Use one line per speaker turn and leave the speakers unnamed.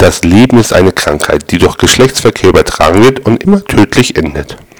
Das Leben ist eine Krankheit, die durch Geschlechtsverkehr übertragen wird und immer tödlich endet.